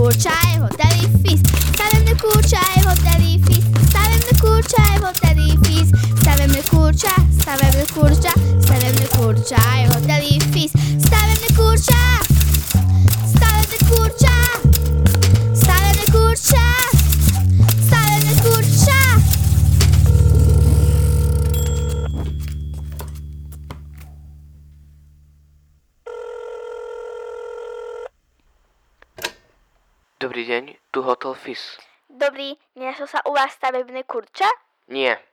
kurča je v hoteli Fis. Stavebné kurča je v hoteli Fis. Stavebné kurča je v hoteli Fis. Stavebné kurča, stavebné kurča, stavebné kurča je v hoteli Fis. Stavebné kurča, stavebné kurča, stavebné kurča, stavebné kurča. Dobrý deň, tu Hotel Fis. Dobrý, nenašlo sa u vás stavebné kurča? Nie,